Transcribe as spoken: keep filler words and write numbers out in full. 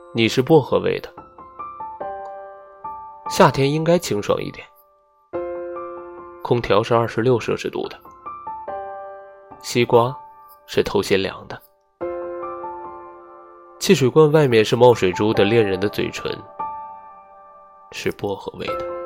你是薄荷味的。夏天应该清爽一点，空调是二十六摄氏度的，西瓜是头些凉的，汽水罐外面是冒水珠的恋人的嘴唇，是薄荷味的。